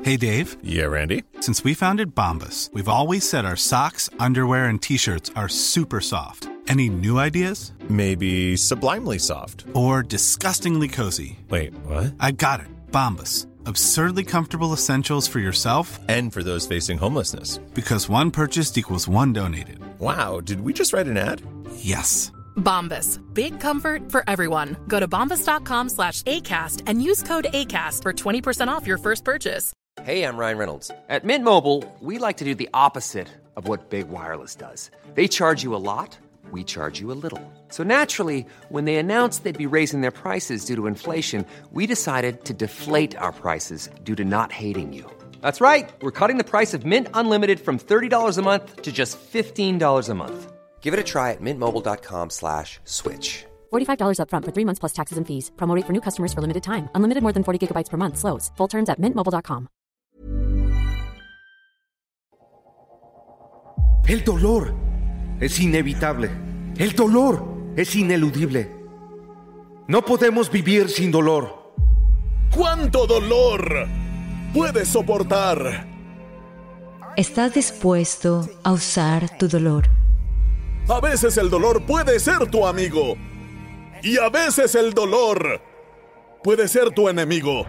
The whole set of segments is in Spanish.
Hey, Dave. Yeah, Randy? Since we founded Bombas, we've always said our socks, underwear, and T-shirts are super soft. Any new ideas? Maybe sublimely soft. Or disgustingly cozy. Wait, what? I got it. Bombas. Absurdly comfortable essentials for yourself and for those facing homelessness. Because one purchased equals one donated. Wow, did we just write an ad? Yes. Bombas. Big comfort for everyone. Go to bombas.com/ACAST and use code ACAST for 20% off your first purchase. Hey, I'm Ryan Reynolds. At Mint Mobile, we like to do the opposite of what Big Wireless does. They charge you a lot, we charge you a little. So naturally, when they announced they'd be raising their prices due to inflation, we decided to deflate our prices due to not hating you. That's right. We're cutting the price of Mint Unlimited from $30 a month to just $15 a month. Give it a try at mintmobile.com/switch. $45 up front for 3 months plus taxes and fees. Promo rate for new customers for limited time. Unlimited more than 40 gigabytes per month. Slows full terms at mintmobile.com. El dolor es inevitable. El dolor es ineludible. No podemos vivir sin dolor. ¿Cuánto dolor puedes soportar? ¿Estás dispuesto a usar tu dolor? A veces el dolor puede ser tu amigo. Y a veces el dolor puede ser tu enemigo.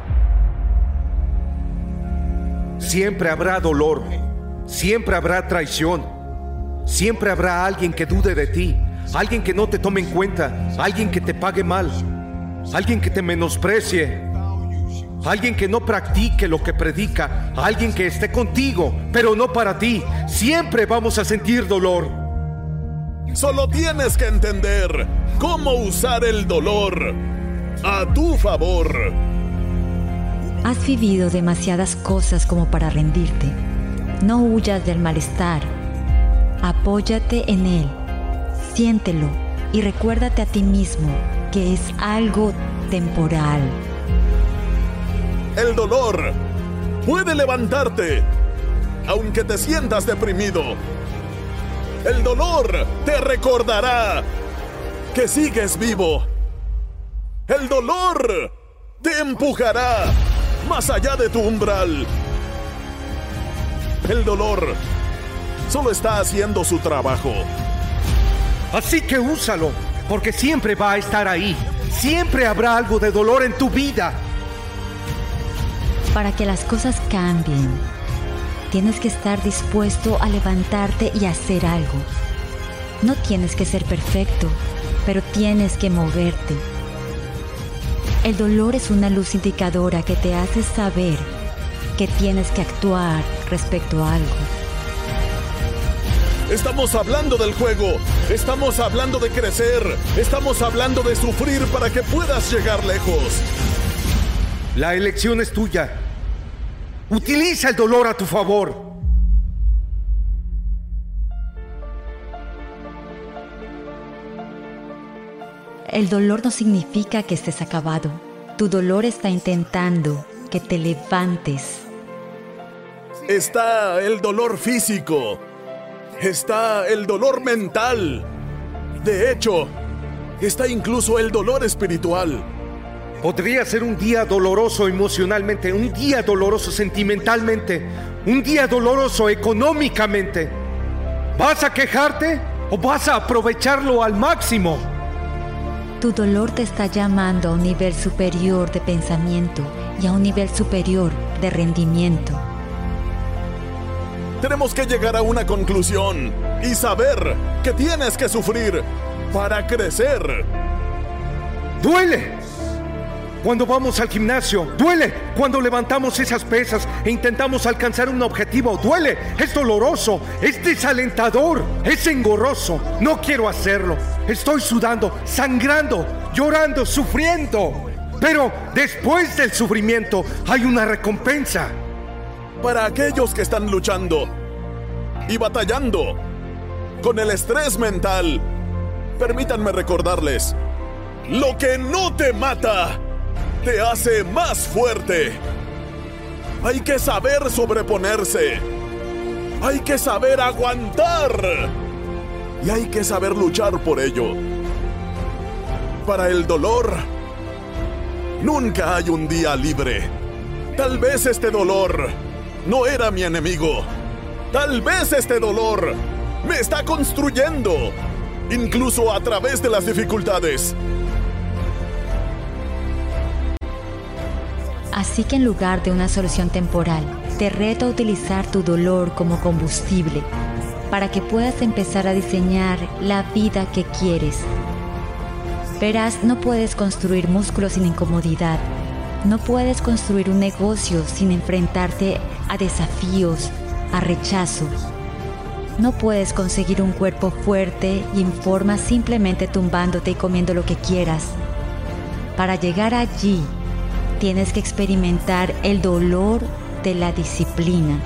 Siempre habrá dolor. Siempre habrá traición. Siempre habrá alguien que dude de ti. Alguien que no te tome en cuenta. Alguien que te pague mal. Alguien que te menosprecie. Alguien que no practique lo que predica. Alguien que esté contigo, pero no para ti. Siempre vamos a sentir dolor. Solo tienes que entender cómo usar el dolor a tu favor. Has vivido demasiadas cosas como para rendirte. No huyas del malestar. Apóyate en él. Siéntelo y recuérdate a ti mismo que es algo temporal. El dolor puede levantarte, aunque te sientas deprimido. El dolor te recordará que sigues vivo. El dolor te empujará más allá de tu umbral. El dolor solo está haciendo su trabajo. Así que úsalo, porque siempre va a estar ahí. Siempre habrá algo de dolor en tu vida. Para que las cosas cambien, tienes que estar dispuesto a levantarte y hacer algo. No tienes que ser perfecto, pero tienes que moverte. El dolor es una luz indicadora que te hace saber que tienes que actuar respecto a algo. Estamos hablando del juego, estamos hablando de crecer, estamos hablando de sufrir para que puedas llegar lejos. La elección es tuya. Utiliza el dolor a tu favor. El dolor no significa que estés acabado. Tu dolor está intentando que te levantes. Está el dolor físico. Está el dolor mental. De hecho, está incluso el dolor espiritual. Podría ser un día doloroso emocionalmente, un día doloroso sentimentalmente, un día doloroso económicamente. ¿Vas a quejarte o vas a aprovecharlo al máximo? Tu dolor te está llamando a un nivel superior de pensamiento y a un nivel superior de rendimiento. Tenemos que llegar a una conclusión y saber que tienes que sufrir para crecer. ¡Duele! Cuando vamos al gimnasio, duele. Cuando levantamos esas pesas e intentamos alcanzar un objetivo, duele. Es doloroso, es desalentador, es engorroso. No quiero hacerlo. Estoy sudando, sangrando, llorando, sufriendo. Pero después del sufrimiento hay una recompensa. Para aquellos que están luchando y batallando con el estrés mental, permítanme recordarles: lo que no te mata te hace más fuerte. Hay que saber sobreponerse. Hay que saber aguantar. Y hay que saber luchar por ello. Para el dolor, nunca hay un día libre. Tal vez este dolor no era mi enemigo. Tal vez este dolor me está construyendo, incluso a través de las dificultades. Así que en lugar de una solución temporal, te reto a utilizar tu dolor como combustible para que puedas empezar a diseñar la vida que quieres. Verás, no puedes construir músculos sin incomodidad. No puedes construir un negocio sin enfrentarte a desafíos, a rechazo. No puedes conseguir un cuerpo fuerte y en forma simplemente tumbándote y comiendo lo que quieras. Para llegar allí, tienes que experimentar el dolor de la disciplina.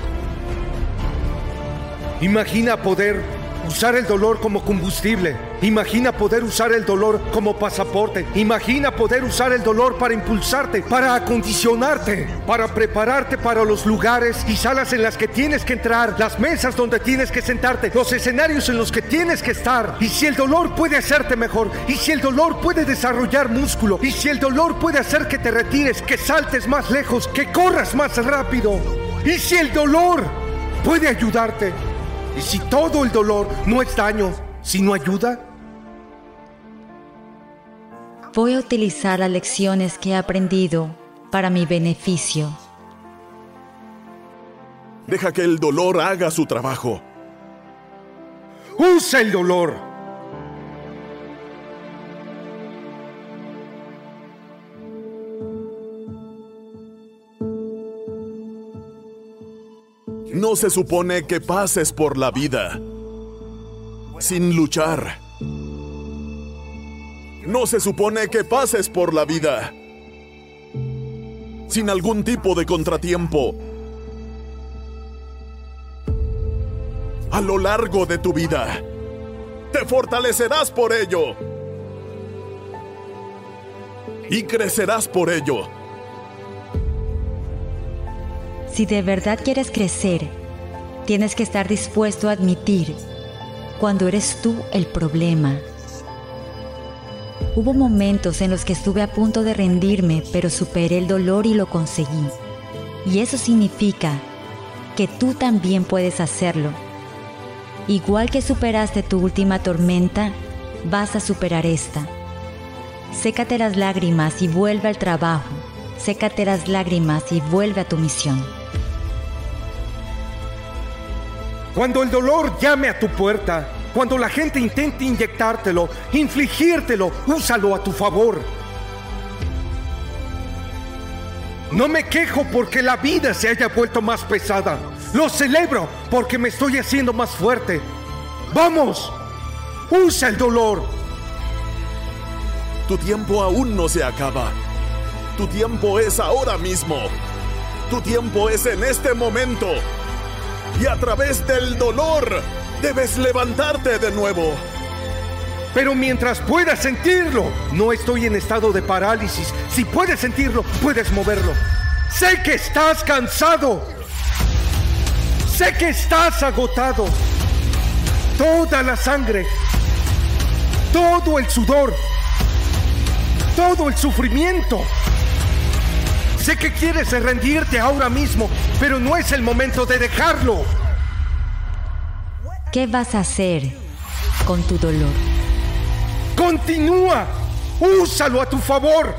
Imagina poder usar el dolor como combustible. Imagina poder usar el dolor como pasaporte. Imagina poder usar el dolor para impulsarte, para acondicionarte, para prepararte para los lugares y salas en las que tienes que entrar, las mesas donde tienes que sentarte, los escenarios en los que tienes que estar. Y si el dolor puede hacerte mejor, y si el dolor puede desarrollar músculo, y si el dolor puede hacer que te retires, que saltes más lejos, que corras más rápido, y si el dolor puede ayudarte, y si todo el dolor no es daño, sino ayuda. Voy a utilizar las lecciones que he aprendido para mi beneficio. Deja que el dolor haga su trabajo. Usa el dolor. No se supone que pases por la vida sin luchar. No se supone que pases por la vida sin algún tipo de contratiempo. A lo largo de tu vida, te fortalecerás por ello y crecerás por ello. Si de verdad quieres crecer, tienes que estar dispuesto a admitir cuando eres tú el problema. Hubo momentos en los que estuve a punto de rendirme, pero superé el dolor y lo conseguí. Y eso significa que tú también puedes hacerlo. Igual que superaste tu última tormenta, vas a superar esta. Sécate las lágrimas y vuelve al trabajo. Sécate las lágrimas y vuelve a tu misión. Cuando el dolor llame a tu puerta, cuando la gente intente inyectártelo, infligírtelo, úsalo a tu favor. No me quejo porque la vida se haya vuelto más pesada. Lo celebro porque me estoy haciendo más fuerte. ¡Vamos! ¡Usa el dolor! Tu tiempo aún no se acaba. Tu tiempo es ahora mismo. Tu tiempo es en este momento. Y a través del dolor, debes levantarte de nuevo. Pero mientras puedas sentirlo, no estoy en estado de parálisis. Si puedes sentirlo, puedes moverlo. Sé que estás cansado. Sé que estás agotado. Toda la sangre, todo el sudor, todo el sufrimiento. Sé que quieres rendirte ahora mismo, pero no es el momento de dejarlo. ¿Qué vas a hacer con tu dolor? ¡Continúa! ¡Úsalo a tu favor!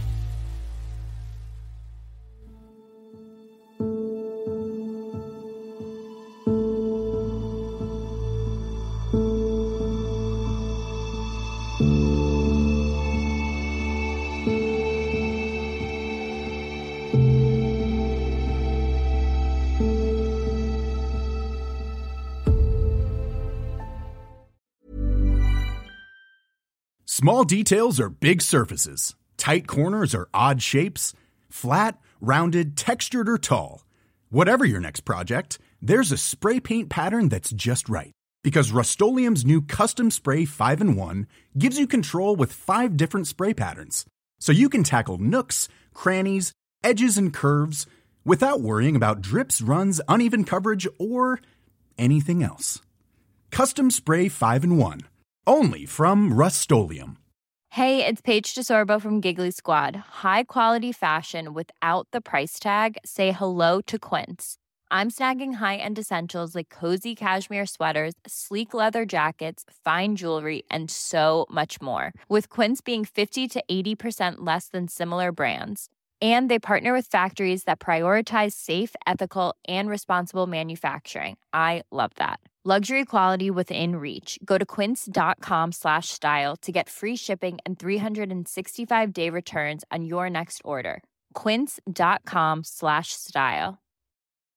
Small details are big surfaces. Tight corners are odd shapes. Flat, rounded, textured, or tall. Whatever your next project, there's a spray paint pattern that's just right. Because Rust-Oleum's new Custom Spray 5-in-1 gives you control with 5 different spray patterns. So you can tackle nooks, crannies, edges, and curves without worrying about drips, runs, uneven coverage, or anything else. Custom Spray 5-in-1. Only from Rust-Oleum. Hey, it's Paige DeSorbo from Giggly Squad. High quality fashion without the price tag. Say hello to Quince. I'm snagging high-end essentials like cozy cashmere sweaters, sleek leather jackets, fine jewelry, and so much more. With Quince being 50 to 80% less than similar brands. And they partner with factories that prioritize safe, ethical, and responsible manufacturing. I love that. Luxury quality within reach. Go to quince.com/style to get free shipping and 365-day returns on your next order. Quince.com/style.